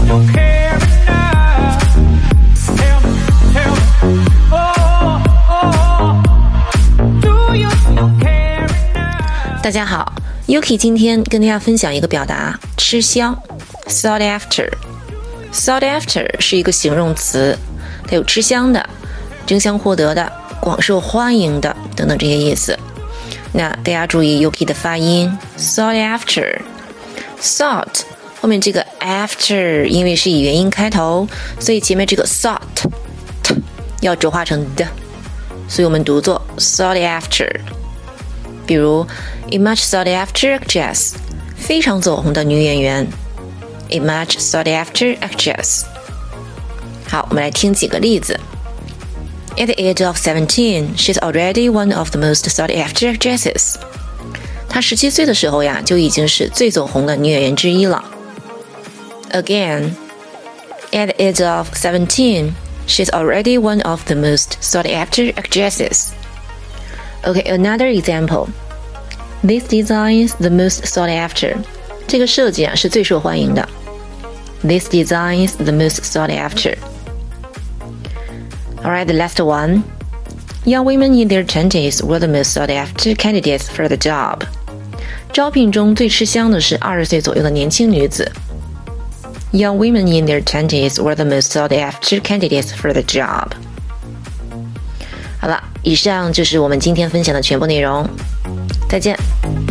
still care enough? Tell me, do you still care enough? 大家好 Yuki 今天跟大家分享一个表达，吃香 sought after。sought after 是一个形容词，它有吃香的、争相获得的、广受欢迎的等等这些意思。那大家注意 Yuki 的发音 sought after sought 后面这个 after 因为是以元音开头，所以前面这个 sought要浊化成的，所以我们读作 sought after。比如 A much sought after actress 非常走红的女演员 A much sought after actress。 好，我们来听几个例子。 At the age of 17 she's already one of the most sought after actresses。 她17岁的时候呀，就已经是最走红的女演员之一了。 Again At the age of 17 she's already one of the most sought after actresses。Okay, another example. This design is the most sought after. 这个设计啊是最受欢迎的。This design is the most sought after. Alright, the last one. Young women in their 20s were the most sought after candidates for the job. 招聘中最吃香的是20岁左右的年轻女子。Young women in their 20s were the most sought after candidates for the job. 好了，以上就是我们今天分享的全部内容，再见。